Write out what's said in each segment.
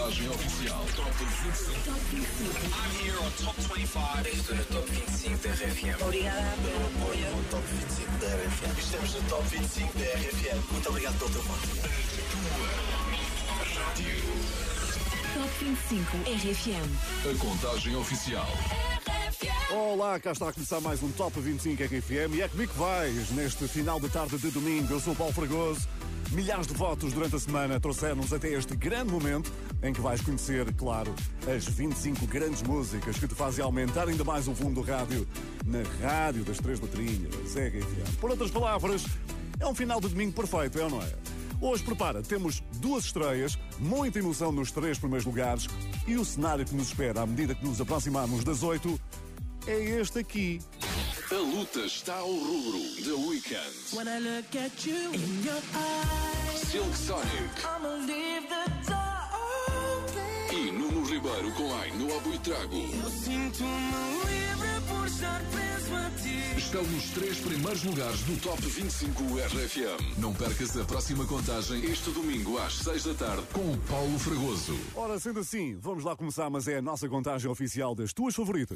contagem oficial. Top 25. I'm here on Top 25. Estou no Top 25 da RFM. Obrigada pelo apoio. No Top 25 da RFM. Estamos no Top 25 da RFM. Muito obrigado pelo teu voto. Rádio. Top 25 RFM. A contagem oficial. Olá, cá está a começar mais um Top 25 RFM e é comigo que vais neste final de tarde de domingo. Eu sou o Paulo Fragoso. Milhares de votos durante a semana trouxeram-nos até este grande momento em que vais conhecer, claro, as 25 grandes músicas que te fazem aumentar ainda mais o volume do rádio na rádio das três letrinhas, RFM. Por outras palavras, é um final de domingo perfeito, é ou não é? Hoje, prepara, temos duas estreias, muita emoção nos três primeiros lugares e o cenário que nos espera à medida que nos aproximamos das 8 é este aqui. A luta está ao rubro. The Weeknd. When I look at you in your eyes, Silk Sonic. I'ma leave the door open. E Nuno Ribeiro com Ai no Abu e Trago. Eu sinto-me livre por estar preso a ti. Estão nos três primeiros lugares do Top 25 RFM. Não percas a próxima contagem este domingo às 6 da tarde com o Paulo Fragoso. Ora, sendo assim, vamos lá começar, mas é a nossa contagem oficial das tuas favoritas.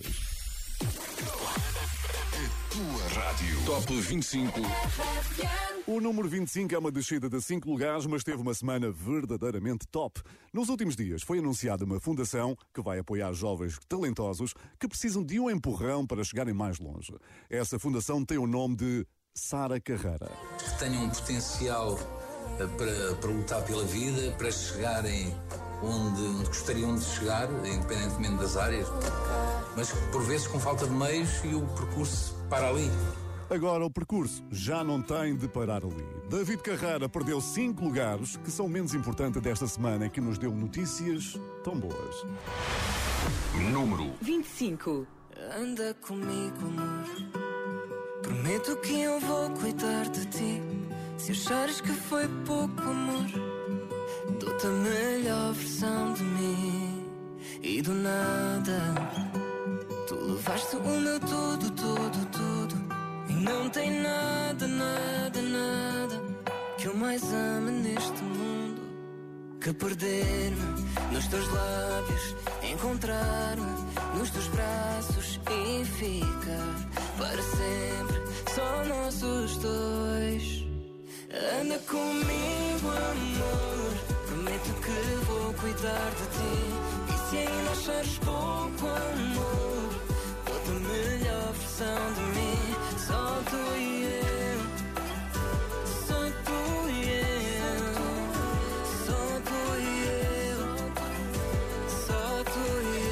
Tua rádio. Top 25. O número 25 é uma descida de 5 lugares, mas teve uma semana verdadeiramente top. Nos últimos dias foi anunciada uma fundação que vai apoiar jovens talentosos que precisam de um empurrão para chegarem mais longe. Essa fundação tem o nome de Sara Carreira. Que tenham um potencial para lutar pela vida, para chegarem onde gostariam de chegar, independentemente das áreas, mas por vezes com falta de meios e o percurso para ali. Agora o percurso já não tem de parar ali. David Carreira perdeu 5 lugares, que são o menos importante desta semana, que nos deu notícias tão boas. Número 25. Anda comigo, amor. Prometo que eu vou cuidar de ti. Se achares que foi pouco amor, dou-te a melhor versão de mim. E do nada tu levaste o meu tudo, tudo, tudo. E não tem nada, nada, nada que eu mais ame neste mundo que perder-me nos teus lábios, encontrar-me nos teus braços e ficar para sempre só nós os dois. Anda comigo, amor. Prometo que vou cuidar de ti. E se ainda achares pouco amor, dou-te a melhor versão de mim. Só tu e eu, só tu e eu, só tu e eu, só tu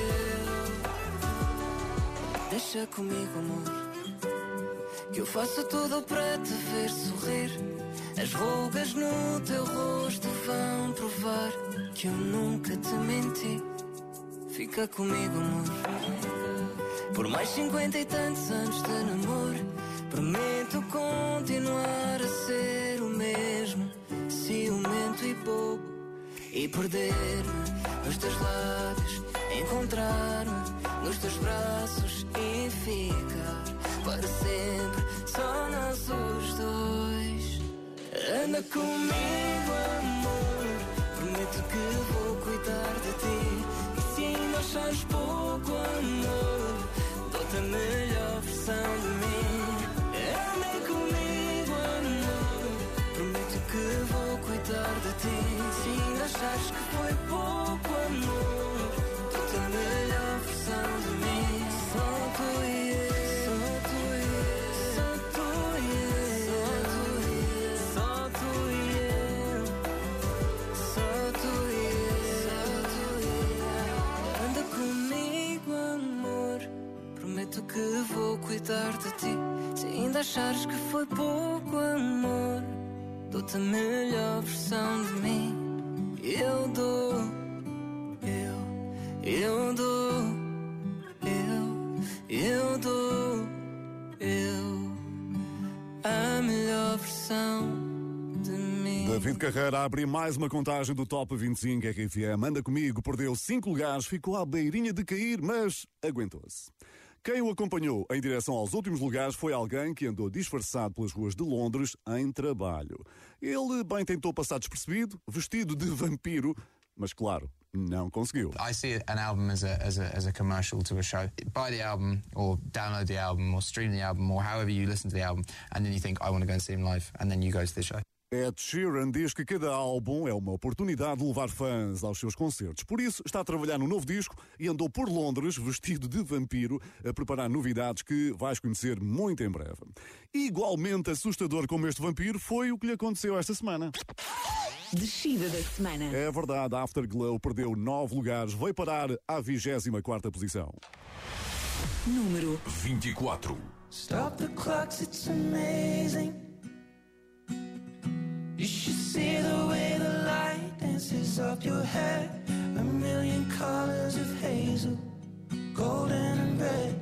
e eu. Deixa comigo, amor, que eu faço tudo para te ver sorrir. As rugas no teu rosto vão provar que eu nunca te menti. Fica comigo, amor, por mais 50 e tantos anos de namoro. Prometo continuar a ser o mesmo, ciumento e bobo, e perder-me nos teus lábios, encontrar-me nos teus braços e ficar para sempre só nós os dois. Anda comigo, amor. Prometo que vou cuidar de ti. E se ainda achares pouco amor, dou-te a melhor versão de mim. Anda comigo, amor. Prometo que vou cuidar de ti. Se ainda achares que foi pouco amor, dou-te a melhor versão de mim. Só tu e eu. Que vou cuidar de ti. Se ainda achares que foi pouco amor, dou-te a melhor versão de mim. Eu dou, eu dou, eu dou, a melhor versão de mim. David Carreira abre mais uma contagem do Top 25 RFM. Anda comigo, perdeu 5 lugares, ficou à beirinha de cair, mas aguentou-se. Quem o acompanhou em direção aos últimos lugares foi alguém que andou disfarçado pelas ruas de Londres em trabalho. Ele bem tentou passar despercebido, vestido de vampiro, mas claro, não conseguiu. I see an album as a commercial to a show. Buy the album, or download the album, or stream the album, or however you listen to the album, and then you think, I want to go and see him live, and then you go to the show. Ed Sheeran diz que cada álbum é uma oportunidade de levar fãs aos seus concertos. Por isso, está a trabalhar no novo disco e andou por Londres, vestido de vampiro, a preparar novidades que vais conhecer muito em breve. Igualmente assustador como este vampiro foi o que lhe aconteceu esta semana. Descida da semana. É verdade, a Afterglow perdeu 9 lugares, veio parar à 24ª posição. Número 24. Stop the clocks, it's amazing. You should see the way the light dances up your hair. A million colors of hazel, golden and red.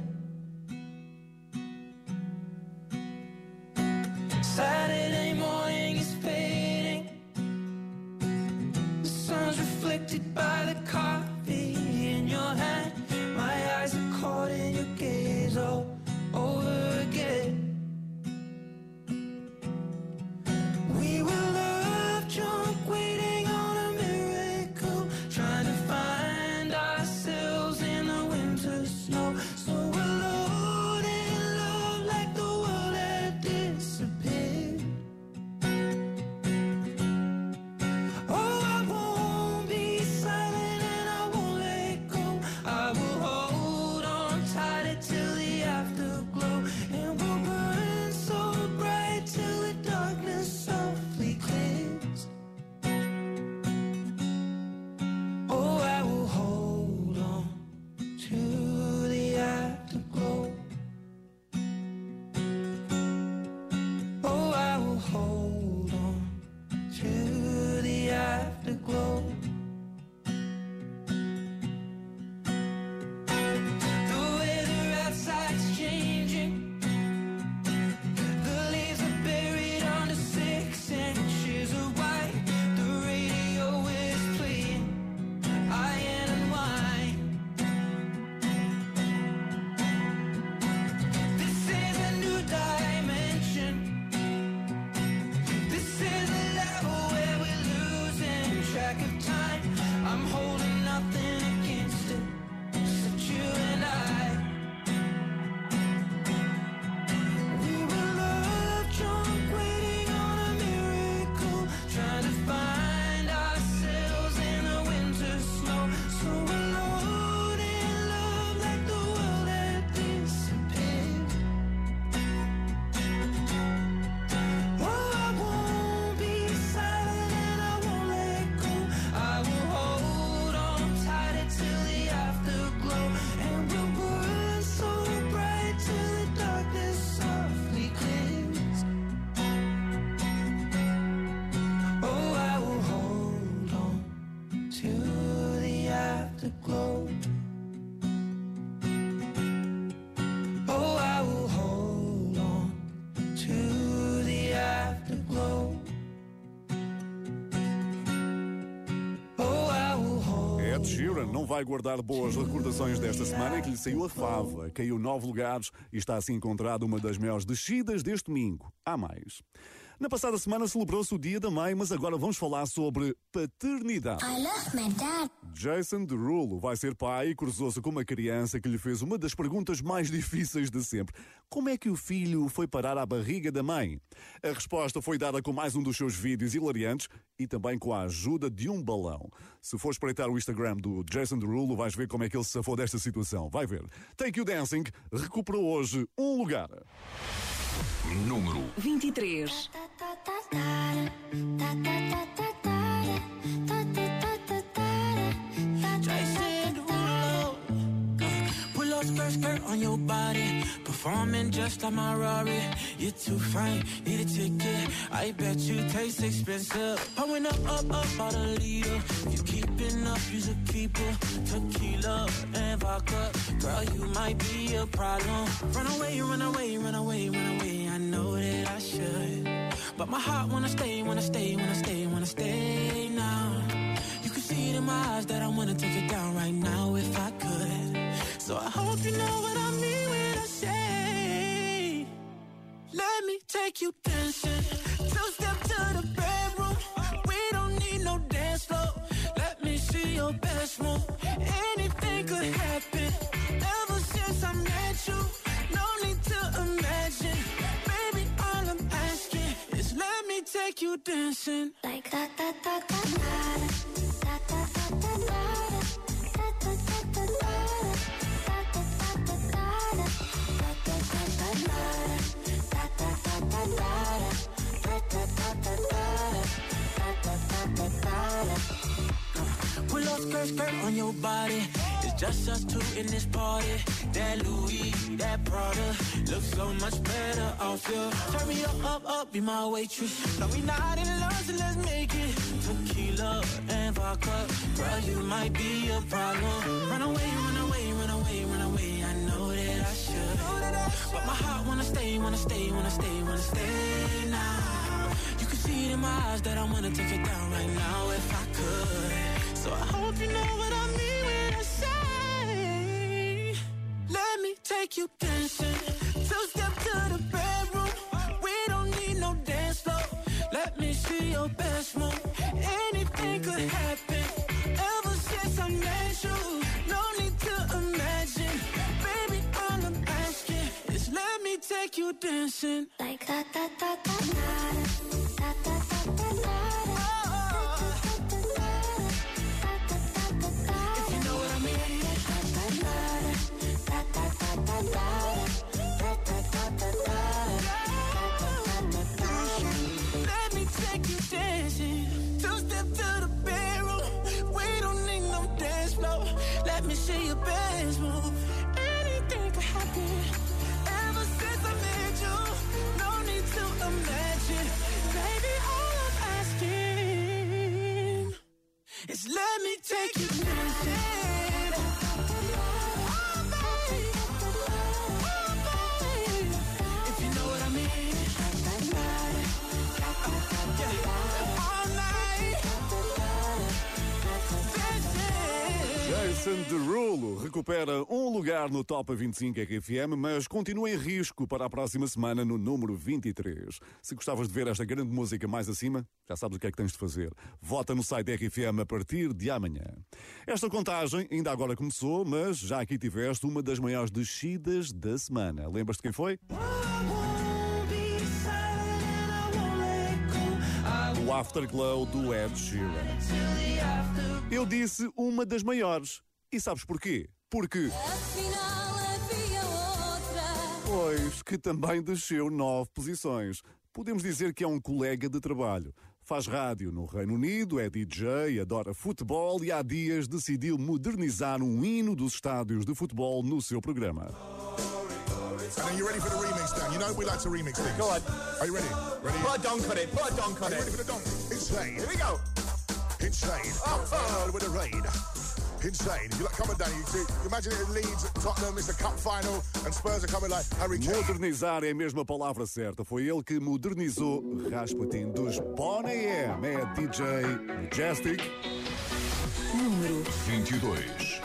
Saturday morning is fading. The sun's reflected by the coffee in your hand. My eyes are caught in your gaze all over again. We were love drunk, waiting on a miracle, trying to find ourselves in the winter snow. So alone in love, like the world had disappeared. Oh, I won't be silent and I won't let go. I will hold on tight till the afterglow, and we'll burn so bright till the darkness softly clears. Oh, I will hold on to the afterglow. Oh, I will hold on to the afterglow. The weather outside's changing. The leaves are buried under 6 inches of white. The radio is playing Iron and Wine. This is a new dimension. This is a level where we're losing track of time. I'm holding nothing against it, except you and I. We were love drunk, waiting on a miracle, trying to find ourselves in the winter snow. So alone in love, like the world had disappeared. Oh, I won't be silent and I won't let go. I will hold on tight till the afterglow, and we'll burn so bright till the darkness softly clears. Oh, I will hold on to the afterglow. Oh, I will hold on to the afterglow. Oh, I will hold. Ed Sheeran não vai guardar boas recordações desta semana em que lhe saiu a fava, caiu 9 lugares e está assim encontrada uma das maiores descidas deste domingo. Há mais. Na passada semana celebrou-se o Dia da Mãe, mas agora vamos falar sobre paternidade. I love my dad. Jason Derulo vai ser pai e cruzou-se com uma criança que lhe fez uma das perguntas mais difíceis de sempre. Como é que o filho foi parar à barriga da mãe? A resposta foi dada com mais um dos seus vídeos hilariantes e também com a ajuda de um balão. Se for espreitar o Instagram do Jason Derulo, vais ver como é que ele se safou desta situação. Vai ver. Take You Dancing recuperou hoje um lugar. Número 23. Jason Derulo, pull up skirt on your body, performing just like my Rari. You're too fine, need a ticket. I bet you taste expensive. Pouring up by the leader. You keeping up, you's a keeper. Tequila and vodka, girl, you might be a problem. Run away, run away, run away, run away. I know that I should, but my heart wanna stay, wanna stay, wanna stay, wanna stay now. You can see it in my eyes that I wanna take it down right now if I could. So I hope you know what I mean when I say, let me take you dancing. Two-step to the bedroom. We don't need no dance floor. Let me move. Anything could happen. Ever since I met you, no need to imagine. Baby, all I'm asking is let me take you dancing. Like da da da da da da da da da da da da pull up skirt on your body. It's just us two in this party. That Louis, that Prada looks so much better off you. Turn me up, be my waitress. No, we not in love, so let's make it tequila and vodka. Girl, you might be a problem. Run away, run away, run away, run away. I know that I should, but my heart wanna stay, wanna stay, wanna stay, wanna stay now. You can see it in my eyes that I wanna take it down right now if I could. So I hope you know what I mean when I say, let me take you dancing. Two-step to the bedroom. We don't need no dance floor. Let me see your best move. Anything could happen. Ever since I met you, no need to imagine. Baby, all I'm asking is let me take you dancing. Like da da da da da da da da da. Let me take you dancing. Two-step to the bedroom. We don't need no dance floor. Let me see your best move. Anything could happen. Ever since I met you, no need to imagine. Baby, all I'm asking is let me take you dancing. Jason Derulo recupera um lugar no Top 25 RFM, mas continua em risco para a próxima semana no número 23. Se gostavas de ver esta grande música mais acima, já sabes o que é que tens de fazer. Vota no site da RFM a partir de amanhã. Esta contagem ainda agora começou, mas já aqui tiveste uma das maiores descidas da semana. Lembras-te quem foi? O Afterglow do Ed Sheeran. Eu disse uma das maiores. E sabes porquê? Porque... Afinal havia outra. Pois, que também desceu 9 posições. Podemos dizer que é um colega de trabalho. Faz rádio no Reino Unido, é DJ, adora futebol e há dias decidiu modernizar um hino dos estádios de futebol no seu programa. And are you ready for the remix, Dan? You know we like to remix things. Go on. Are you ready? Ready? Put a donk on it. Put a donk on Are you it. ready for the donk? Insane. Here we go. Insane. Oh. With the rain. Insane. If you like, come on, Dan. You imagine it Leeds, Tottenham, it's the cup final, and Spurs are coming like Harry Kane. Modernizar é a mesma palavra certa. Foi ele que modernizou Rasputin dos Boney M. É DJ Majestic. Número 22.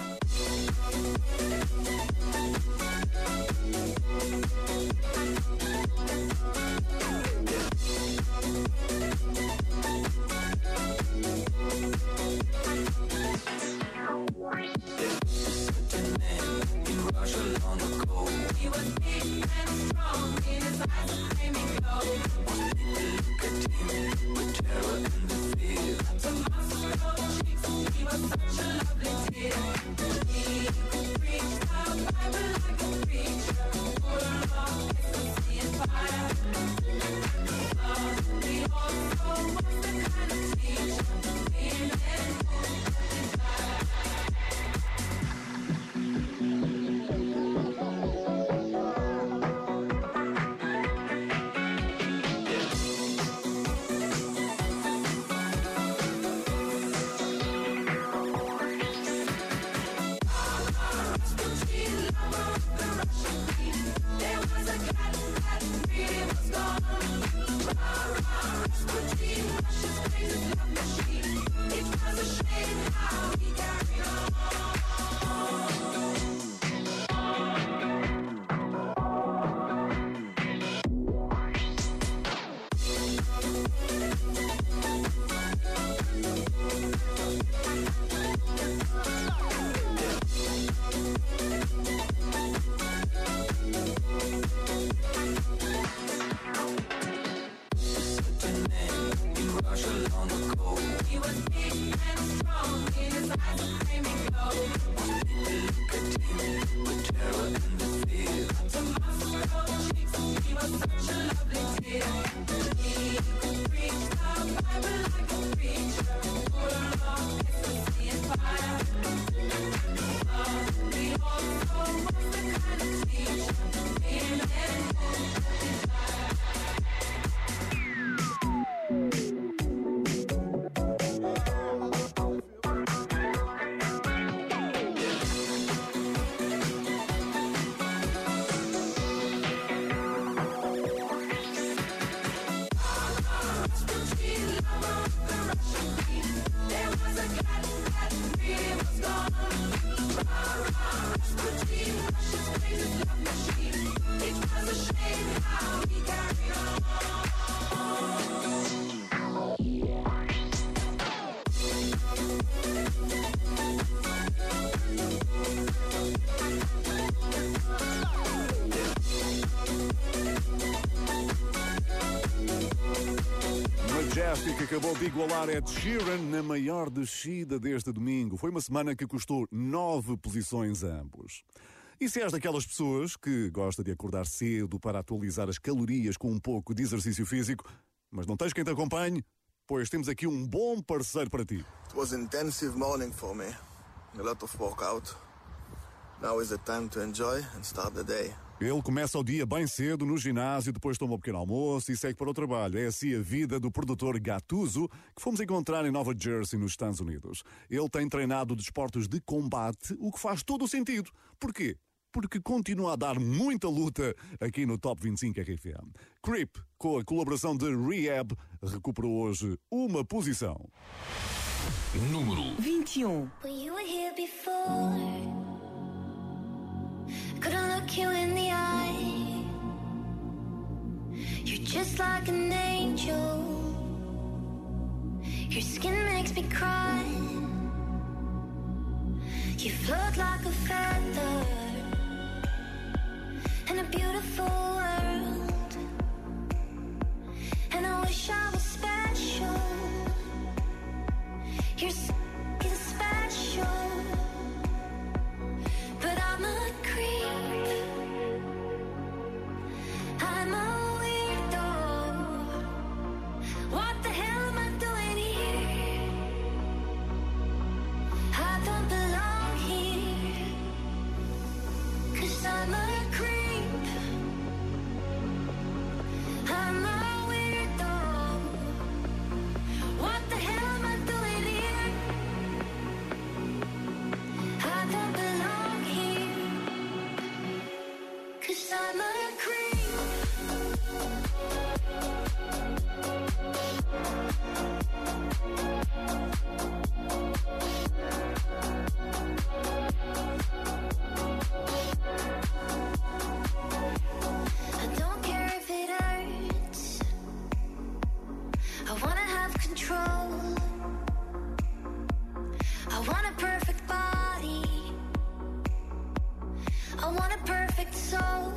Que acabou de igualar Ed Sheeran na maior descida deste domingo. Foi uma semana que custou 9 posições a ambos. E se és daquelas pessoas que gosta de acordar cedo para atualizar as calorias com um pouco de exercício físico, mas não tens quem te acompanhe, pois temos aqui um bom parceiro para ti. It was an intensive morning for me. A lot of workout. Now is the time to enjoy and start the day. Ele começa o dia bem cedo no ginásio, depois toma um pequeno almoço e segue para o trabalho. É assim a vida do produtor Gattuso, que fomos encontrar em Nova Jersey, nos Estados Unidos. Ele tem treinado desportos de combate, o que faz todo o sentido. Porquê? Porque continua a dar muita luta aqui no Top 25 RFM. Creep, com a colaboração de Rehab, recuperou hoje uma posição. Número 21. When you were here before, couldn't look you in the eye. You're just like an angel. Your skin makes me cry. You float like a feather in a beautiful world. And I wish I was special. You're special. But I'm a creep. I'm a weirdo. What the hell am I doing here? I don't belong here. 'Cause I'm a creep. I'm a weirdo. What the hell am I doing here? I don't belong here. 'Cause I'm a creep. I don't care if it hurts. I wanna have control. I want a perfect body. I want a perfect soul.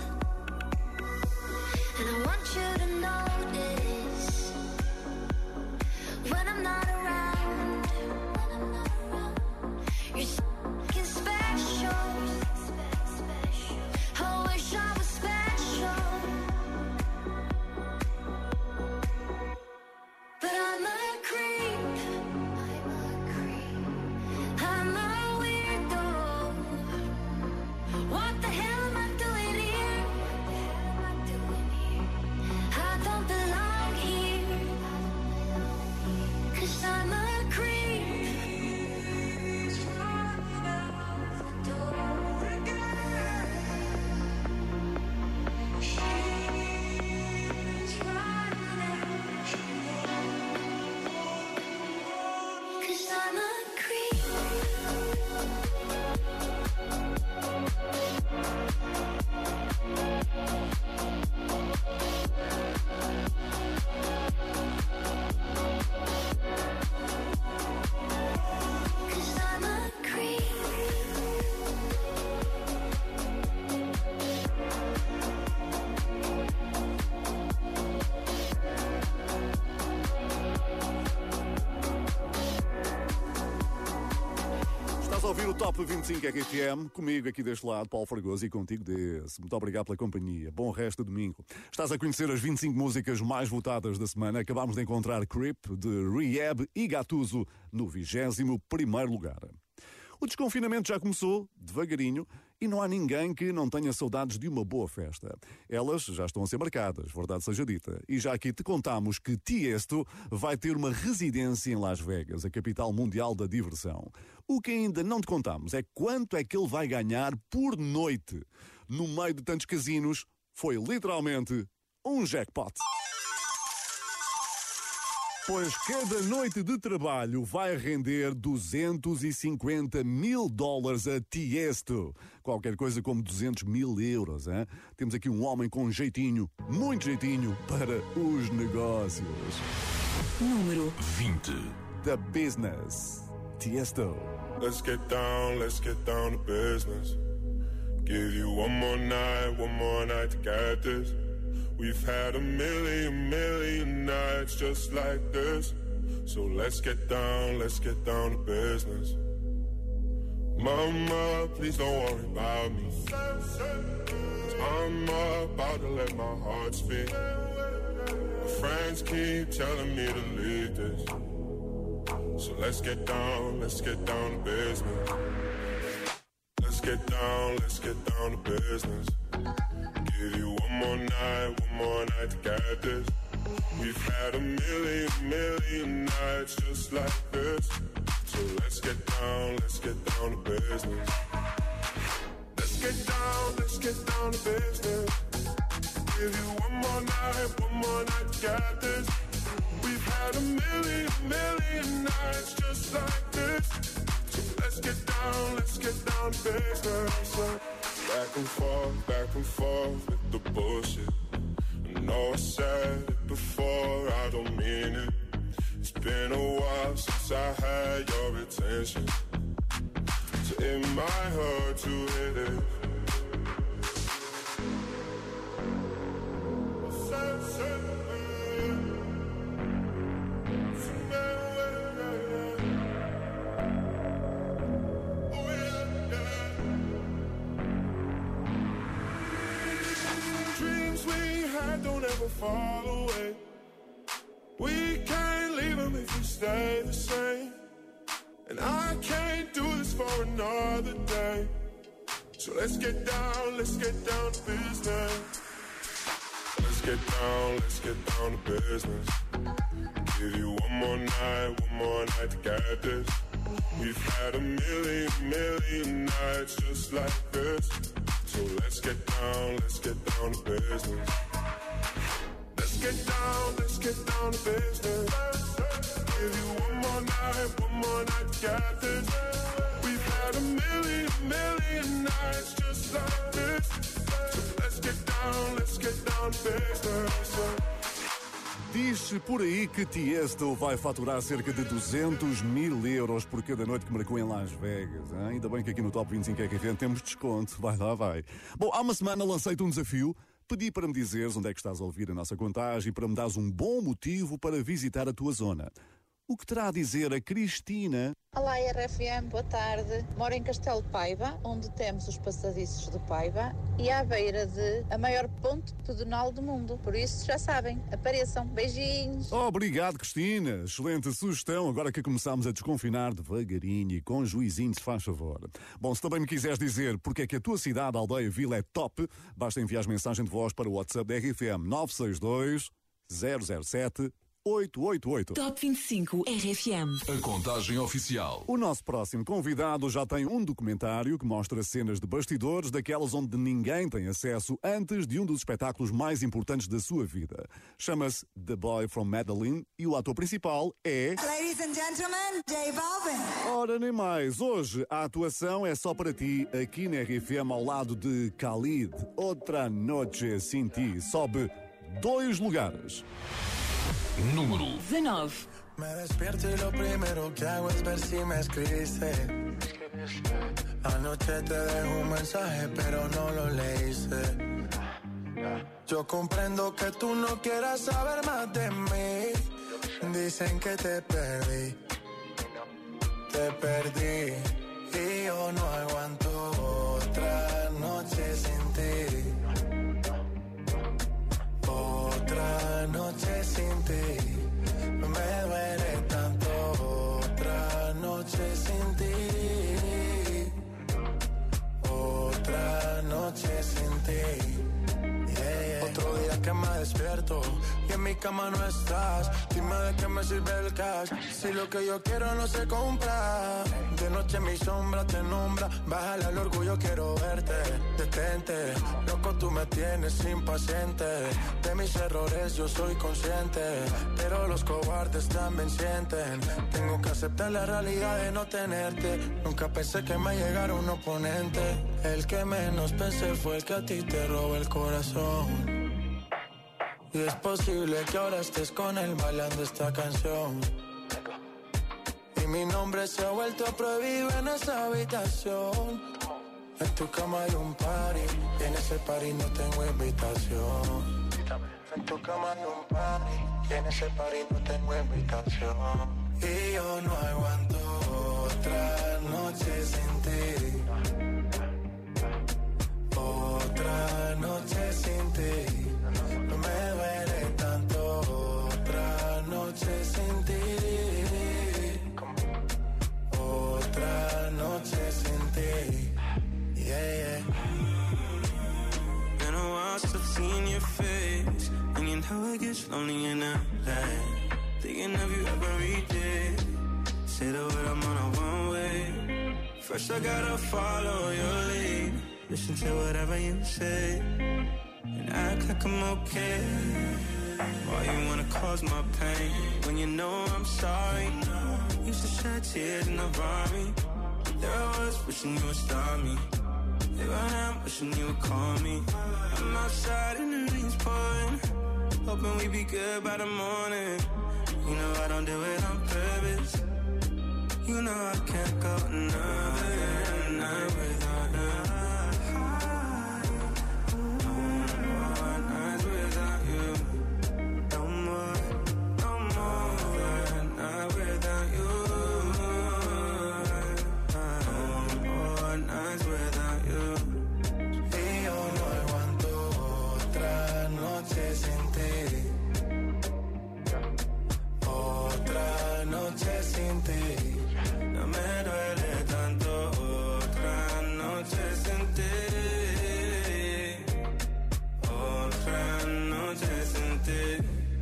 And I want you to notice when I'm not around. You're f***ing special. I wish I was special. But I'm a creep. I'm a weirdo. What the hell am I doing here? I a ouvir o Top 25 RFM, comigo aqui deste lado, Paulo Fragoso, e contigo desse. Muito obrigado pela companhia. Bom resto de domingo. Estás a conhecer as 25 músicas mais votadas da semana. Acabámos de encontrar Creep, de Rehab e Gattuso no 21º lugar. O desconfinamento já começou, devagarinho, e não há ninguém que não tenha saudades de uma boa festa. Elas já estão a ser marcadas, verdade seja dita. E já aqui te contamos que Tiesto vai ter uma residência em Las Vegas, a capital mundial da diversão. O que ainda não te contamos é quanto é que ele vai ganhar por noite. No meio de tantos casinos, foi literalmente um jackpot. Pois cada noite de trabalho vai render $250 mil a Tiesto. Qualquer coisa como 200 mil euros, hein? Temos aqui um homem com jeitinho, muito jeitinho, para os negócios. Número 20. The Business. Tiesto. Let's get down to business. Give you one more night to get this. We've had a million nights just like this. So let's get down to business. Mama, please don't worry about me. 'Cause I'm about to let my heart speak. My friends keep telling me to leave this. So let's get down to business. Let's get down to business. Give you one more night to get this. We've had a million nights just like this. So let's get down to business. Let's get down to business. Give you one more night to get this. We've had a million nights just like this. So let's get down to business. Back and forth with the bullshit. I know I said it before, I don't mean it. It's been a while since I had your attention. So it might hurt to hit it. Don't ever fall away. We can't leave them if we stay the same. And I can't do this for another day. So let's get down to business. Let's get down to business. Give you one more night to get this. We've had a million nights just like this. So let's get down to business. Let's get down to business. Give you one more night to get this. We've had a million nights just like this. So let's get down to business. Diz por aí que Tiesto vai faturar cerca de 200 mil euros por cada noite que marcou em Las Vegas. Hein? Ainda bem que aqui no Top 25 RFM temos desconto. Vai lá, vai. Bom, há uma semana lancei-te um desafio. Pedi para me dizeres onde é que estás a ouvir a nossa contagem e para me dares um bom motivo para visitar a tua zona. O que terá a dizer a Cristina? Olá, RFM, boa tarde. Moro em Castelo de Paiva, onde temos os passadiços de Paiva e à beira de a maior ponte pedonal do mundo. Por isso, já sabem, apareçam. Beijinhos. Obrigado, Cristina. Excelente sugestão. Agora que começamos a desconfinar devagarinho e com juizinho, se faz favor. Bom, se também me quiseres dizer porque é que a tua cidade, aldeia, vila é top, basta enviar mensagem de voz para o WhatsApp da RFM 962 007 888. Top 25 RFM. A contagem oficial. O nosso próximo convidado já tem um documentário que mostra cenas de bastidores daquelas onde ninguém tem acesso antes de um dos espetáculos mais importantes da sua vida. Chama-se The Boy from Medellin e o ator principal é... Ladies and gentlemen, J Balvin. Ora, nem mais. Hoje a atuação é só para ti aqui na RFM ao lado de Khalid. Outra noche sin ti. Sobe 2 lugares. Número 19. Me despierto y lo primero que hago es ver si me escribiste. Anoche te dejo un mensaje pero no lo leíste. Yo comprendo que tú no quieras saber más de mí. Dicen que te perdí y yo no aguanto otra noche sin ti. Otra noche sin ti. No me duele tanto. Otra noche sin ti. Otra noche sin ti. Otro día que me despierto y en mi cama no estás. Dime de qué me sirve el cash si lo que yo quiero no se compra. De noche mi sombra te nombra. Bájale al orgullo, quiero verte. Detente, loco, tú me tienes impaciente. De mis errores yo soy consciente, pero los cobardes también sienten. Tengo que aceptar la realidad de no tenerte. Nunca pensé que me llegara un oponente. El que menos pensé fue el que a ti te robó el corazón. Y es posible que ahora estés con él bailando esta canción. Y mi nombre se ha vuelto prohibido en esa habitación. En tu cama hay un party y en ese party no tengo invitación. En tu cama hay un party y en ese party no tengo invitación. Y yo no aguanto otra noche sin ti. Otra noche sin ti. No me duele tanto. Otra noche sin ti. Otra noche sin ti. Yeah, yeah. Been a while since I've seen your face, and you know it gets lonely in LA. Thinking of you every day. Say the word, I'm on a one way. First I gotta follow your lead. Listen to whatever you say and act like I'm okay. Why you wanna cause my pain when you know I'm sorry? Used to shed tears in the Rari. There I was wishing you would stop me. Here I am wishing you would call me. I'm outside and the rain's pouring, hoping we be good by the morning. You know I don't do it on purpose. You know I can't go another night without her. No me duele tanto. Otra noche sin ti. Otra noche sin ti.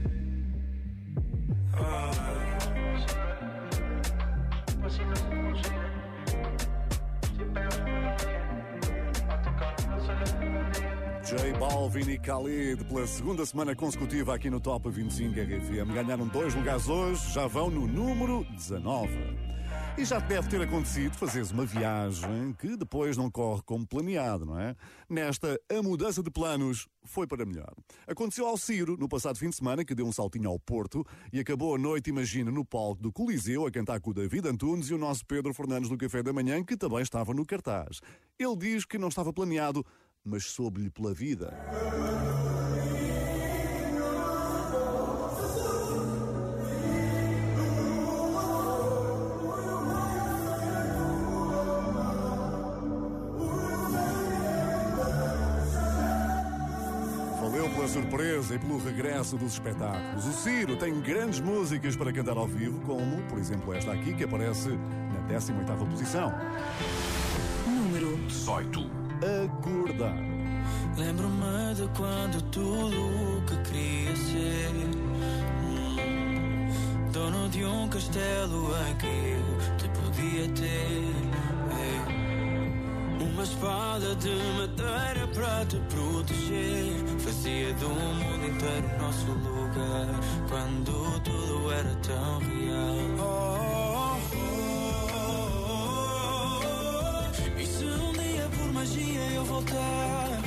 J Balvin e Khalid, pela segunda semana consecutiva aqui no Top 25 RFM. Ganharam 2 lugares hoje, já vão no número 19. E já te deve ter acontecido fazeres uma viagem que depois não corre como planeado, não é? Nesta, a mudança de planos foi para melhor. Aconteceu ao Ciro, no passado fim de semana, que deu um saltinho ao Porto e acabou a noite, imagina, no palco do Coliseu, a cantar com o David Antunes e o nosso Pedro Fernandes do Café da Manhã, que também estava no cartaz. Ele diz que não estava planeado, mas soube-lhe pela vida. Valeu pela surpresa e pelo regresso dos espetáculos. O Ciro tem grandes músicas para cantar ao vivo, como, por exemplo, esta aqui, que aparece na 18ª posição. Número 18. Acordar. Lembro-me de quando tudo o que queria ser dono de um castelo em que eu te podia ter. Uma espada de madeira para te proteger. Fazia do mundo inteiro o nosso lugar quando tudo era tão real. E se um dia por magia eu voltar,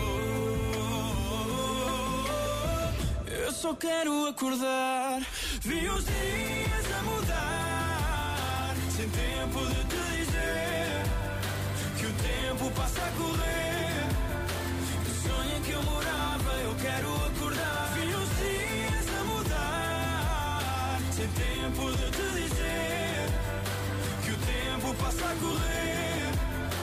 eu só quero acordar. Vi os dias a mudar, sem tempo de te dizer que o tempo passa a correr. No sonho em que eu morava, eu quero acordar. Vi os dias a mudar, sem tempo de te dizer que o tempo passa a correr.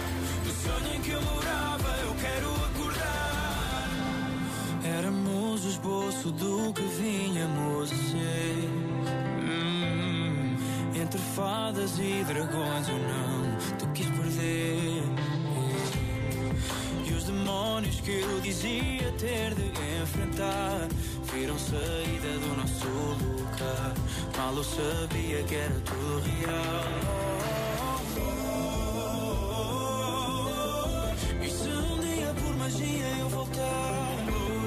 sonho em que eu morava, eu quero acordar. Éramos o esboço do que vínhamos a ser. Entre fadas e dragões eu não te quis perder. E os demónios que eu dizia ter de enfrentar viram saída do nosso lugar. Mal eu sabia que era tudo real. E se um dia por magia eu voltar,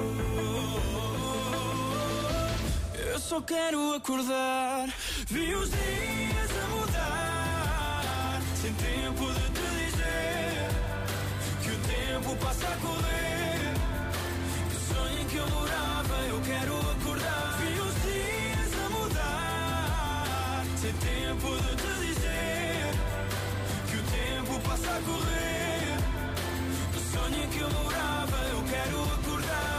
eu só quero acordar. Vi os dias a mudar, sem tempo de te dizer que o tempo passa a correr. O sonho em que eu morava, eu quero acordar. Vi os dias a mudar, sem tempo de te dizer que o tempo passa a correr. O sonho em que eu morava, eu quero acordar.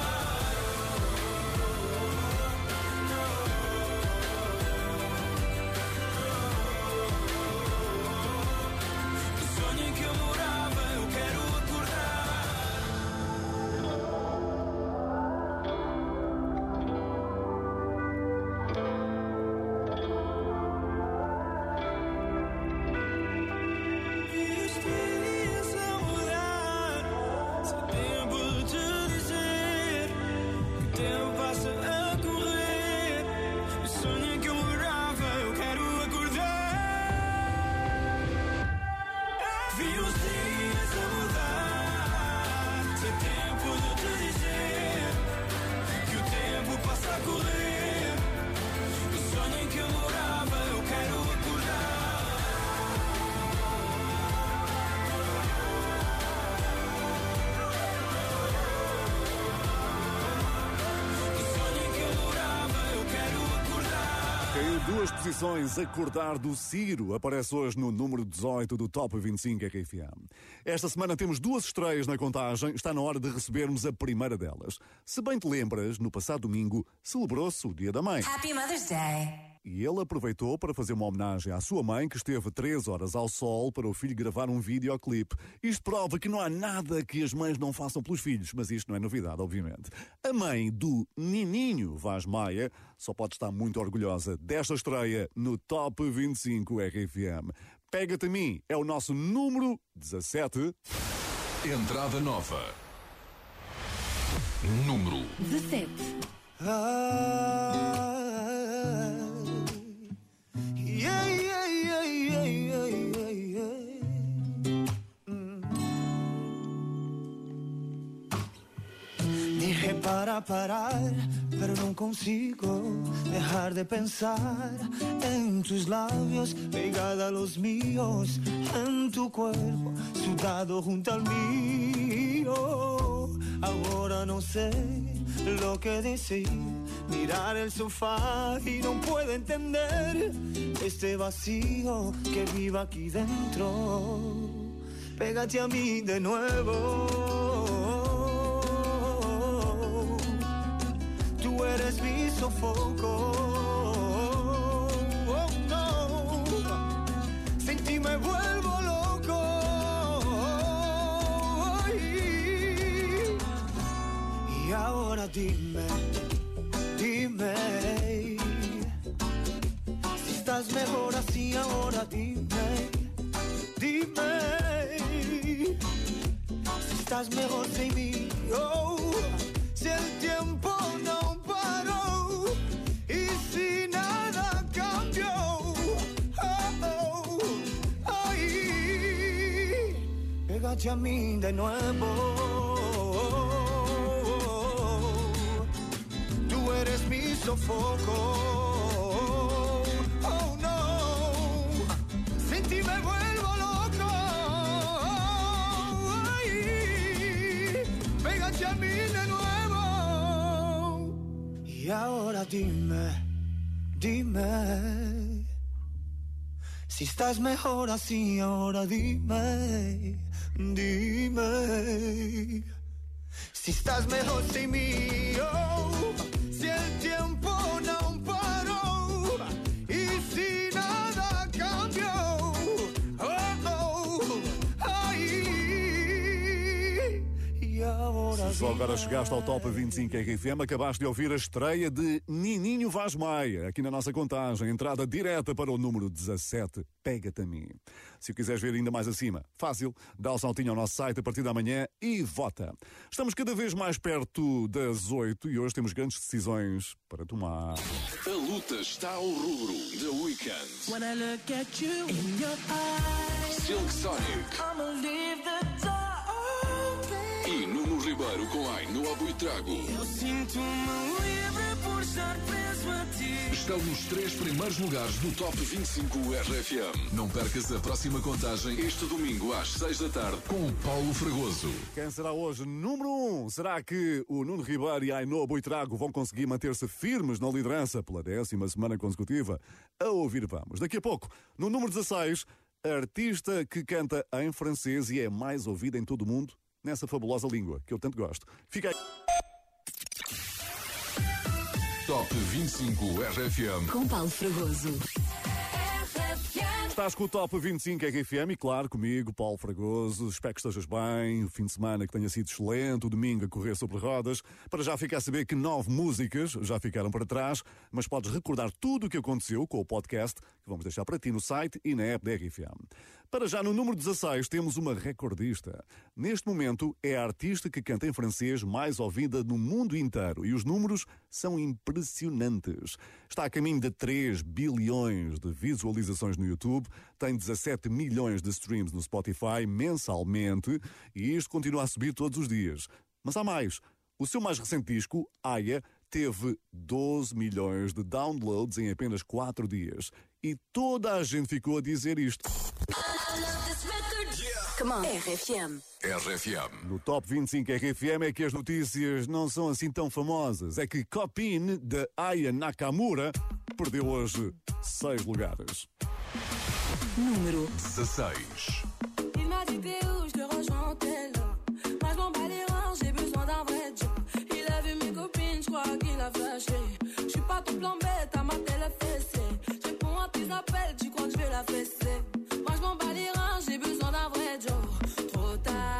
Duas posições, Acordar do Ciro, aparece hoje no número 18 do Top 25 RFM. Esta semana temos duas estreias na contagem, está na hora de recebermos a primeira delas. Se bem te lembras, no passado domingo celebrou-se o Dia da Mãe. Happy Mother's Day. E ele aproveitou para fazer uma homenagem à sua mãe, que esteve 3 horas ao sol para o filho gravar um videoclipe. Isto prova que não há nada que as mães não façam pelos filhos, mas isto não é novidade, obviamente. A mãe do Nininho Vaz Maia só pode estar muito orgulhosa desta estreia no Top 25 RFM. Pega-te a mim, é o nosso número 17. Entrada nova. Número 17. Dije para parar, pero no consigo dejar de pensar en tus labios, pegada a los míos, en tu cuerpo, sudado junto al mío. Ahora no sé lo que decir, mirar el sofá y no puedo entender este vacío que vive aquí dentro. Pégate a mí de nuevo. Tú eres mi sofoco. Oh no, sin ti me vuelvo loco. Y ahora dime, dime, si estás mejor así. Ahora dime, dime, si estás mejor sin mí. Oh, si el tiempo no paró y si nada cambió. Oh, oh, ay, pégate a mí de nuevo. Tú eres mi sofoco. Oh no, sin ti me vuelvo loco. Ay, pégate a mí de nuevo. Y ahora dime, dime, si estás mejor así. Ahora dime, dime, si estás mejor sin mí. Oh, si el tiempo no paró y si nada cambió. Oh, oh, ay, Só agora chegaste ao Top 25 RFM, acabaste de ouvir a estreia de Nininho Vaz Maia, aqui na nossa contagem, entrada direta para o número 17, Pega-te a mim. Se o quiseres ver ainda mais acima, fácil, dá o saltinho ao nosso site a partir da manhã e vota. Estamos cada vez mais perto das 8 e hoje temos grandes decisões para tomar. A luta está ao rubro The Weeknd. When I look at you in your eyes, Silk Sonic. I'ma leave the door open. E Nuno Ribeiro com Ainhoa Buitrago. Eu sinto-me livre por estar preso a ti. Estão nos 3 primeiros lugares do Top 25 RFM. Não percas a próxima contagem este domingo às 6 da tarde com o Paulo Fragoso. Quem será hoje número 1? Será que o Nuno Ribeiro e a Ainhoa Buitrago vão conseguir manter-se firmes na liderança pela 10ª semana consecutiva? A ouvir vamos. Daqui a pouco, no número 16, artista que canta em francês e é mais ouvida em todo o mundo nessa fabulosa língua que eu tanto gosto. Fica aí. Top 25 RFM. Com Paulo Fragoso. Estás com o Top 25 RFM e claro, comigo, Paulo Fragoso. Espero que estejas bem, o fim de semana que tenha sido excelente, o domingo a correr sobre rodas. Para já ficar a saber que 9 músicas já ficaram para trás, mas podes recordar tudo o que aconteceu com o podcast que vamos deixar para ti no site e na app da RFM. Para já no número 16 temos uma recordista. Neste momento é a artista que canta em francês mais ouvida no mundo inteiro e os números são impressionantes. Está a caminho de 3 bilhões de visualizações no YouTube, tem 17 milhões de streams no Spotify mensalmente e isto continua a subir todos os dias. Mas há mais. O seu mais recente disco, Aya, teve 12 milhões de downloads em apenas 4 dias. E toda a gente ficou a dizer isto. Come on. RFM. RFM. No Top 25 RFM é que as notícias não são assim tão famosas. É que Copine, de Aya Nakamura, perdeu hoje 6 lugares. Número 16. Il m'a dit t'es où, je te rejoins tel. Moi je m'en bats les reins, j'ai besoin d'un vrai job. Il a vu mes copines, je crois qu'il a flashé. Je suis pas ton plan bête, à ma télé fessée. Je réponds à tes appels, tu crois que je vais la fesser. Moi je m'en bats les reins, j'ai besoin d'un vrai job. Trop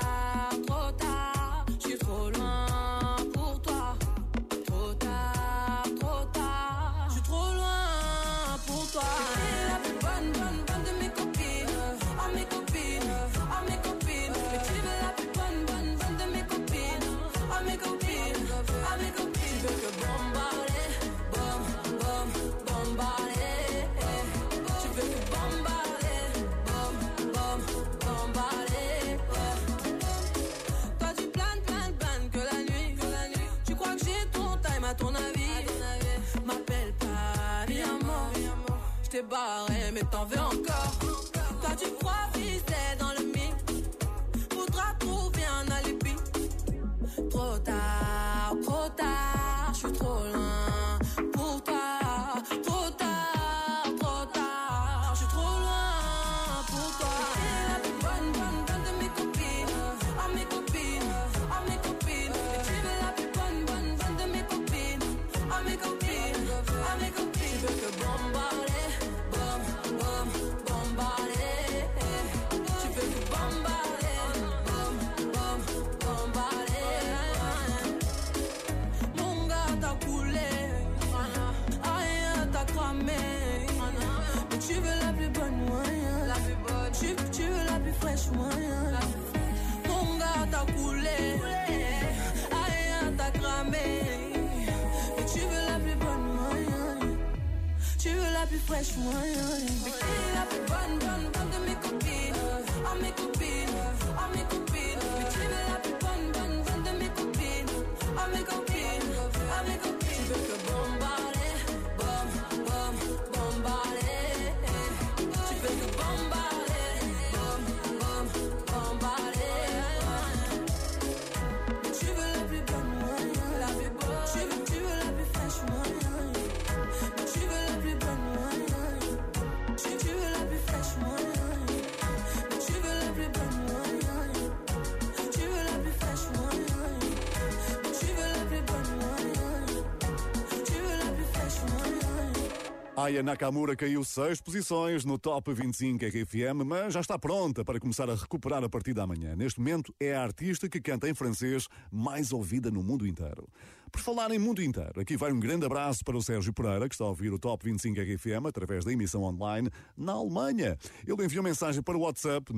tard, je suis trop loin pour toi. Trop tard, je suis trop loin pour toi. T'es la plus bonne de mes copines. Oh mes copines, oh mes copines. Mais tu veux la plus bonne de mes copines. Oh mes copines, oh mes copines. Tu veux que bombarder, bombarder. Tu veux que bombarder, bombarder. Toi tu planes que la nuit. Tu crois que j'ai ton time à ton avis. M'appelle pas, mi amor. J't'ai barré mais t'en veux encore. Toi tu crois viser dans le mix. Faudra trouver un alibi. Trop tard, je suis trop loin pour toi. Trop tard, je suis trop loin pour toi. T'es la plus bonne de mes copines. Oh mes copines, oh mes copines. Et tu veux la plus bonne de mes copines. Oh mes copines, oh mes copines. Tu veux que bombarder, bombarder. Tu veux que bombarder, bombarder. Mon gars t'a coulé, rien t'a cramé. Mais tu veux la plus bonne moyen. Tu veux la plus fraîche moyen. Mon gars t'a coulé, rien t'a cramé. Mais tu veux la plus bonne moyen. Tu veux la plus fraîche moyen. Mais qui est la plus bonne de mes copines. Oh mes copines, oh mes copines. Mais tu veux la plus bonne de mes copines. Oh mes copines, oh mes copines. Tu veux que bombarder, bombarder. Tu veux que bombarder, bombarder. Mais tu veux la plus bonne moyen. Tu veux la plus fraîche moyen. Mais tu veux la plus bonne moyen. Tu veux la plus fraîche moyen. Mais tu veux la plus bonne moyen. Tu veux la plus fraîche moyen. Aya Nakamura caiu 6 posições no Top 25 RFM, mas já está pronta para começar a recuperar a partir da manhã. Neste momento é a artista que canta em francês mais ouvida no mundo inteiro. Por falar em mundo inteiro, aqui vai um grande abraço para o Sérgio Pereira, que está a ouvir o Top 25 RFM através da emissão online na Alemanha. Ele enviou mensagem para o WhatsApp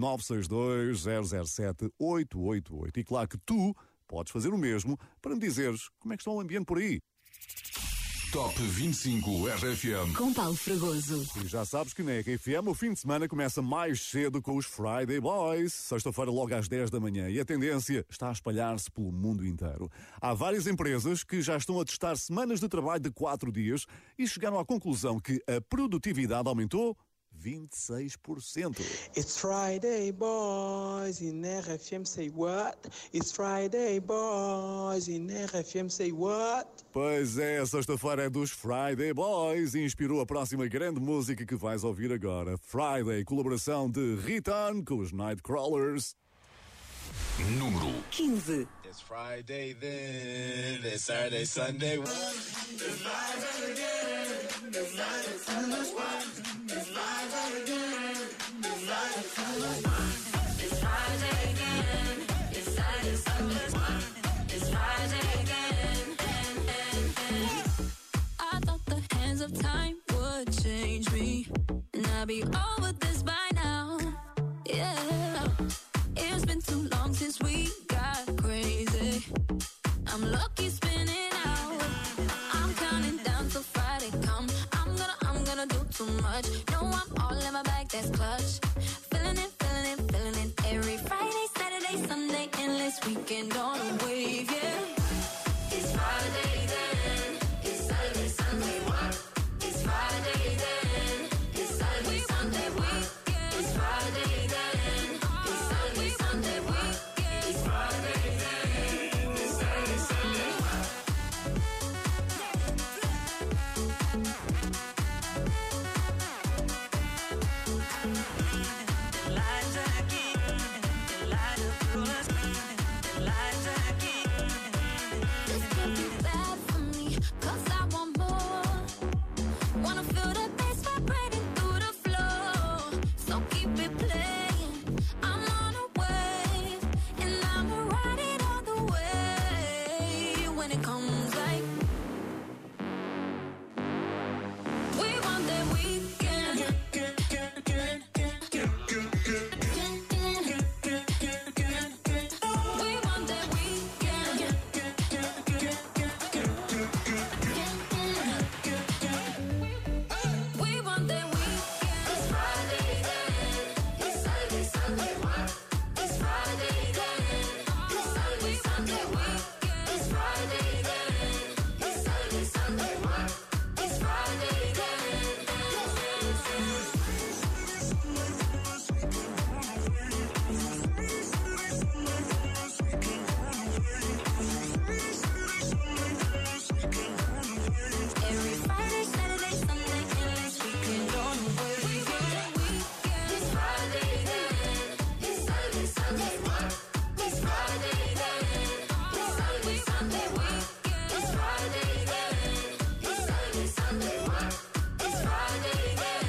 962-007-888. E claro que tu podes fazer o mesmo para me dizeres como é que está o ambiente por aí. Top 25 RFM. Com Paulo Fragoso. E já sabes que na RFM o fim de semana começa mais cedo com os Friday Boys. Sexta-feira logo às 10 da manhã. E a tendência está a espalhar-se pelo mundo inteiro. Há várias empresas que já estão a testar semanas de trabalho de 4 dias e chegaram à conclusão que a produtividade aumentou 26%. It's Friday, boys, in RFM say what? It's Friday, boys, in RFM say what? Pois é, sexta-feira é dos Friday Boys e inspirou a próxima grande música que vais ouvir agora. Friday, colaboração de Riton com os Nightcrawlers. Número 15. It's Friday then, it's Saturday, Sunday. It's Friday again, it's Friday, Sunday. It's Friday again, it's Friday, Sunday. It's Friday again, it's Saturday, Sunday. It's Friday again, I thought the hands of time would change me, and I'd be over this by now. Yeah, it's been too long since we got crazy. I'm lucky spinning out. I'm counting down till Friday come. I'm gonna do too much. No, I'm all in my bag, that's clutch. Feeling it, feeling it, feeling it. Every Friday, Saturday, Sunday, endless weekend on a wave, yeah. It's Friday then, it's Saturday, Sunday. It's Friday then, it's Saturday, Sunday. It's Friday then, it's Saturday, Sunday. It's Friday then, it's Saturday, Sunday. This could be bad for me, 'cause I want more. Wanna feel the bass vibrating through the floor. So keep it playing. I'm on a wave, and I'ma ride it all the way. When it comes like we want that weekend. We want that weekend. We want that weekend. It's Friday then, it's Saturday, Sunday. It's Friday then, it's Saturday, Sunday. It's Friday then, it's Saturday, Sunday. It's Friday Every Friday, Saturday, Sunday, endless weekend on the wave. It's Friday then, it's Saturday, Sunday. It's Friday then, it's Saturday, Sunday. It's Friday then, it's Saturday, Sunday. It's Friday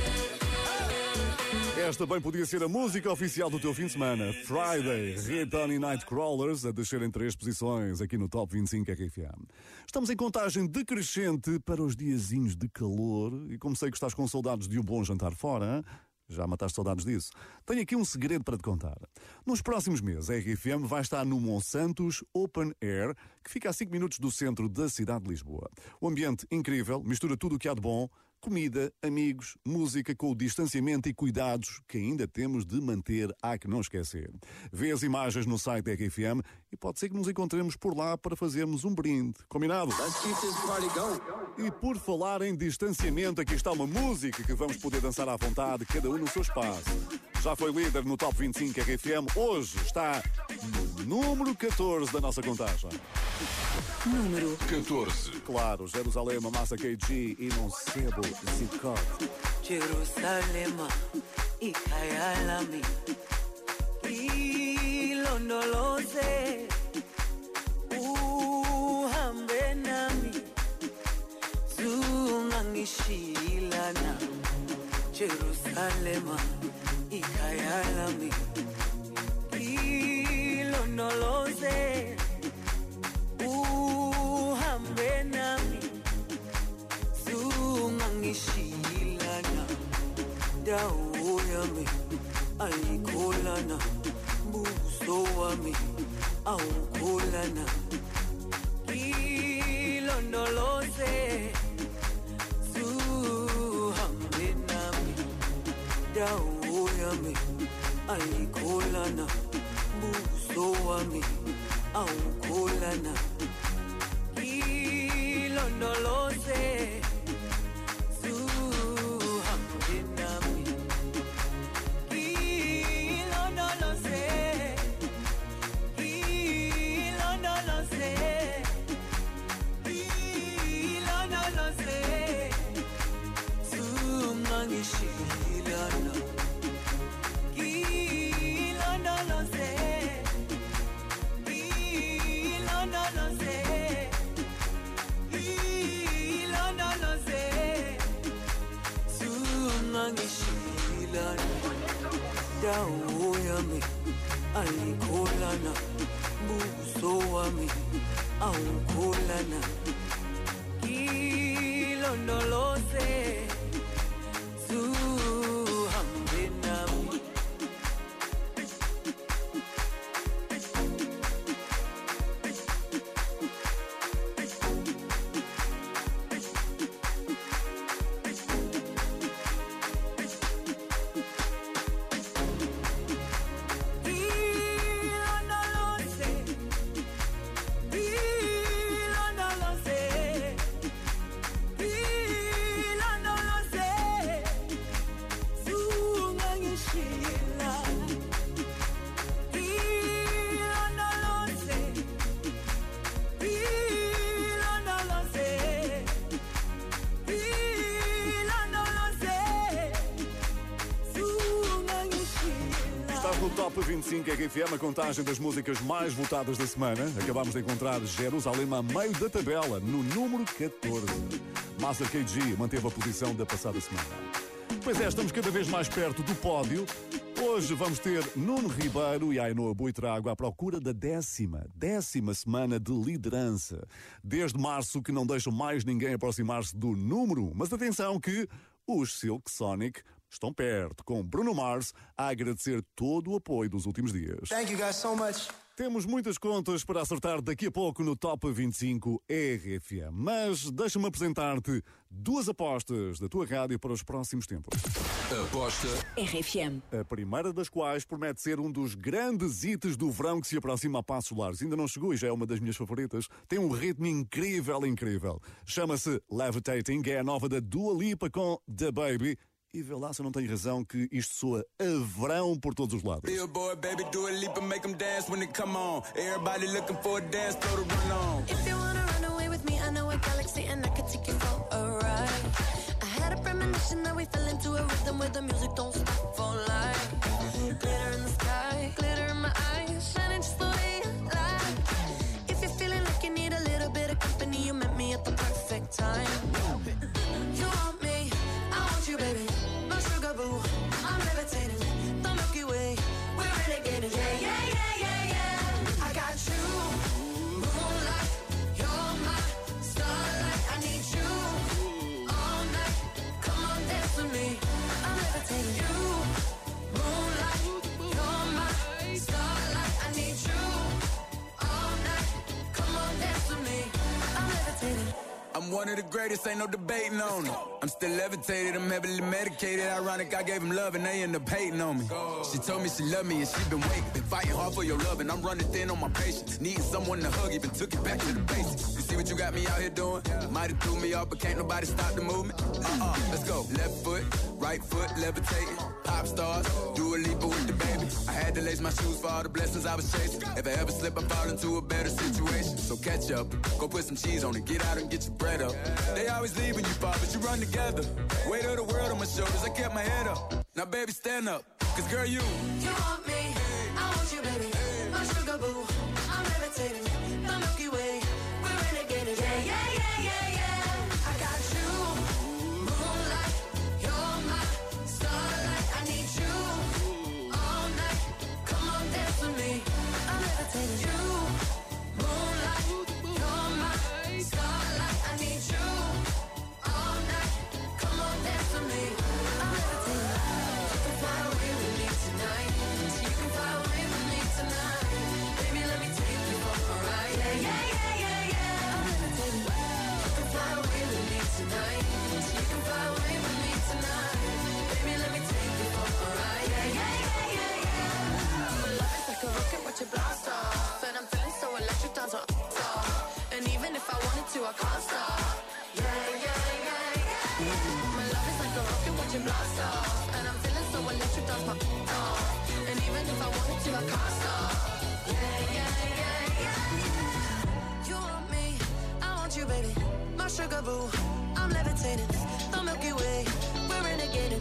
then. Esta bem podia ser a música oficial do teu fim de semana. Friday, Riton e Nightcrawlers a descer em 3 posições aqui no Top 25 RFM. Estamos em contagem decrescente para os diazinhos de calor e como sei que estás com saudades de um bom jantar fora, hein? Já mataste saudades disso? Tenho aqui um segredo para te contar. Nos próximos meses, a RFM vai estar no Monsantos Open Air, que fica a 5 minutos do centro da cidade de Lisboa. O ambiente incrível, mistura tudo o que há de bom, comida, amigos, música com o distanciamento e cuidados que ainda temos de manter, há que não esquecer. Vê as imagens no site da RFM e pode ser que nos encontremos por lá para fazermos um brinde. Combinado? E por falar em distanciamento, aqui está uma música que vamos poder dançar à vontade, cada um no seu espaço. Já foi líder no Top 25 RFM, hoje está no número 14 da nossa contagem. Número 14. Claro, Jerusalém, Massa KG e Nocebo Zicote. Jerusalema, ikhaya lami, ilondoloze, uhambe nami, zungangishila. ngishilana Jerusalema ikhayalami ilondoloze uhambe nami sungangishilana dawo yami ayikholana buso wami awukholana ilondoloze suhambe nami dawo yami ayikholana buso wami awukholana ilondoloze suhambe nami ilondoloze ilondoloze ilondoloze sungangishilana ilondoloze ilondoloze ilondoloze sungangishilana dawo yami ayikholana buso wami awukholana ilondoloze suhambe nami No Top 25 RFM, a contagem das músicas mais votadas da semana. Acabamos de encontrar Jerusalém a meio da tabela, no número 14. Master KG manteve a posição da passada semana. Pois é, estamos cada vez mais perto do pódio. Hoje vamos ter Nuno Ribeiro e Ainhoa Buitrago à procura da décima semana de liderança. Desde março que não deixam mais ninguém aproximar-se do número 1. Mas atenção que os Silk Sonic estão perto, com Bruno Mars a agradecer todo o apoio dos últimos dias. Thank you guys so much. Temos muitas contas para acertar daqui a pouco no Top 25 RFM, mas deixa-me apresentar-te duas apostas da tua rádio para os próximos tempos. Aposta RFM. A primeira das quais promete ser um dos grandes hits do verão que se aproxima a passos largos. Ainda não chegou e já é uma das minhas favoritas. Tem um ritmo incrível. Chama-se Levitating, é a nova da Dua Lipa com The Baby. E vê lá se eu não tenho razão que isto soa a verão por todos os lados. Billboard, baby, do a leap and make them dance when they come on. Everybody looking for a dance floor to run on. If you wanna run away with me, I know a galaxy and I could take you for a ride. I had a premonition that we fell into a rhythm where the music don't stop for life. Glitter in the sky, glitter in my eyes, shining just the way you like. If you're feeling like you need a little bit of company, you met me at the perfect time. You want me, I want you, baby. My sugar boo, I'm levitating. The Milky Way, we're renegading. Yeah. I got you, moonlight. You're my starlight. I need you all night. Come on, dance with me. I'm levitating. You, moonlight. You're my starlight. I need you all night. Come on, dance with me. I'm levitating. I'm one of the greatest, ain't no debating on it. I'm still levitated, I'm heavily medicated. Ironic, I gave him love and they end up hating on me. She told me she loved me and she been waiting. Been fighting hard for your love and I'm running thin on my patience. Needing someone to hug, even took it back to the basics. You see what you got me out here doing? Might have threw me off, but can't nobody stop the movement. Let's go. Left foot, right foot, levitating. Pop stars, do a leap with the baby. I had to lace my shoes for all the blessings I was chasing. If I ever slip, I fall into a better situation. So catch up, go put some cheese on it, get out and get your bread up. They always leave when you fall, but you run together. Weight of the world on my shoulders, I kept my head up. Now baby, stand up, cause girl, you want me, I want you, baby. My sugar boo, I'm levitating. The Milky Way, we're renegading. Yeah. I got you, moonlight. blast off. And I'm feeling so electric, that's my off. And even if I wanted to, I can't stop. Yeah, yeah, yeah, yeah. You want me, I want you, baby. My sugar boo, I'm levitating. The Milky Way, we're renegading.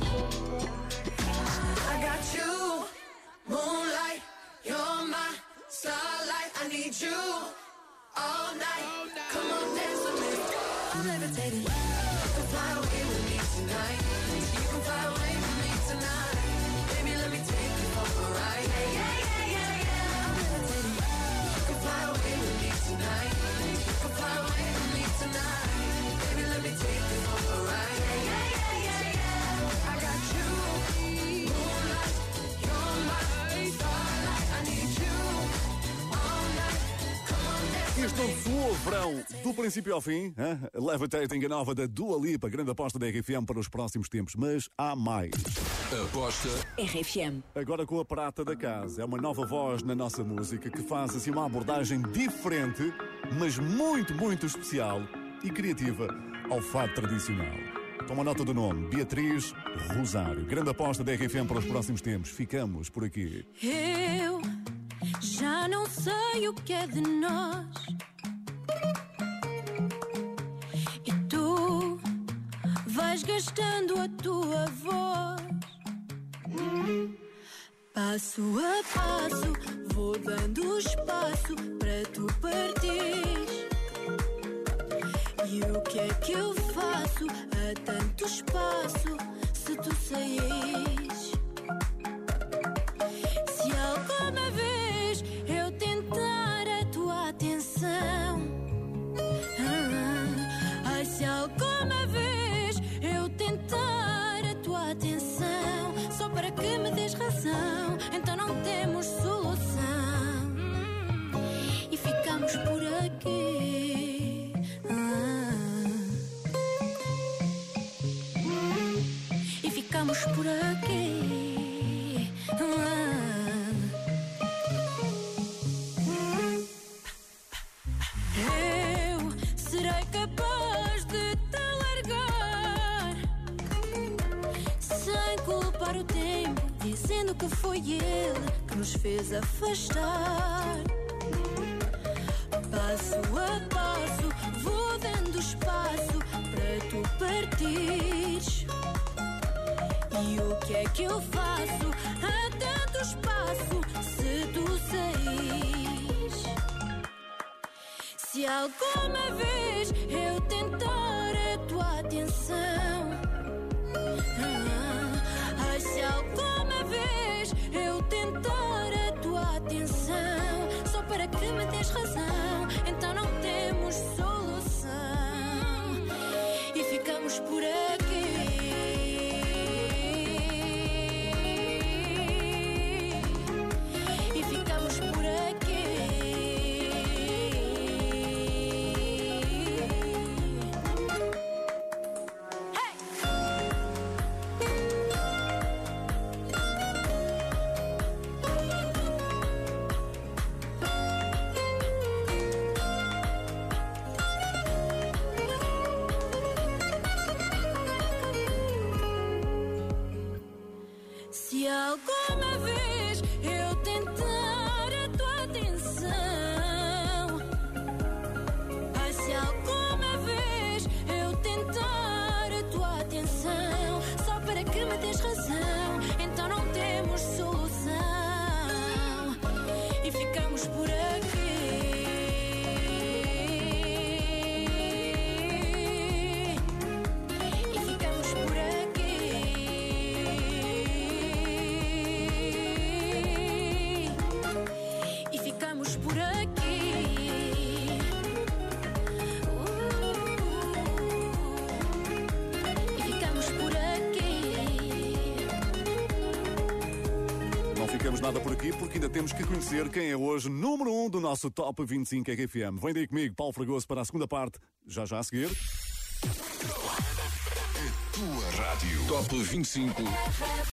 I got you, moonlight, you're my starlight. I need you all night. Come on, dance with me. I'm levitating. You can fly away with me tonight. You can fly away with me tonight. Baby, let me take you for a ride. Yeah, yeah, yeah, yeah, yeah. I'm levitating. You can fly away with me tonight. You can fly away with me tonight. Baby, let me take you for a ride. Yeah, yeah, yeah, yeah, yeah. I got you, moonlight, you're my starlight. I need you all night. Come on, dance. Isto não soou verão do princípio ao fim. Hein? Levitating, a nova da Dua Lipa, grande aposta da RFM para os próximos tempos. Mas há mais. Aposta RFM. Agora com a prata da casa. É uma nova voz na nossa música que faz assim uma abordagem diferente, mas muito, muito especial e criativa ao fado tradicional. Toma nota do nome, Beatriz Rosário. Grande aposta da RFM para os próximos tempos. Ficamos por aqui. Eu já não sei o que é de nós. E tu vais gastando a tua voz. Passo a passo vou dando espaço para tu partires. E o que é que eu faço a tanto espaço se tu saís? Se alguma vez eu tentar a tua atenção, ai, se alguma vez eu tentar a tua atenção, só para que me des razão, então não temos solução e ficamos por aqui. E ficamos por aqui. Eu serei capaz de te largar sem culpar o tempo, dizendo que foi ele que nos fez afastar. Passo a passo vou dando espaço para tu partires. E o que é que eu faço a tanto espaço se tu saís? Se alguma vez eu tentar a tua atenção, ai, se alguma vez eu tentar a tua atenção, só para que me des razão, então não temos solução e ficamos por aqui. E ficamos por aqui. Se alguma vez eu tentar a tua atenção, ai, se alguma vez eu tentar a tua atenção, só para que me des razão, então não temos solução e ficamos por aqui. E ficamos por aqui. E ficamos por aqui. E ficamos por aqui. Não ficamos nada por aqui porque ainda temos que conhecer quem é hoje número 1 do nosso Top 25 RFM. Vem daí comigo, Paulo Fragoso, para a segunda parte, já a seguir. Tua Rádio. Top 25.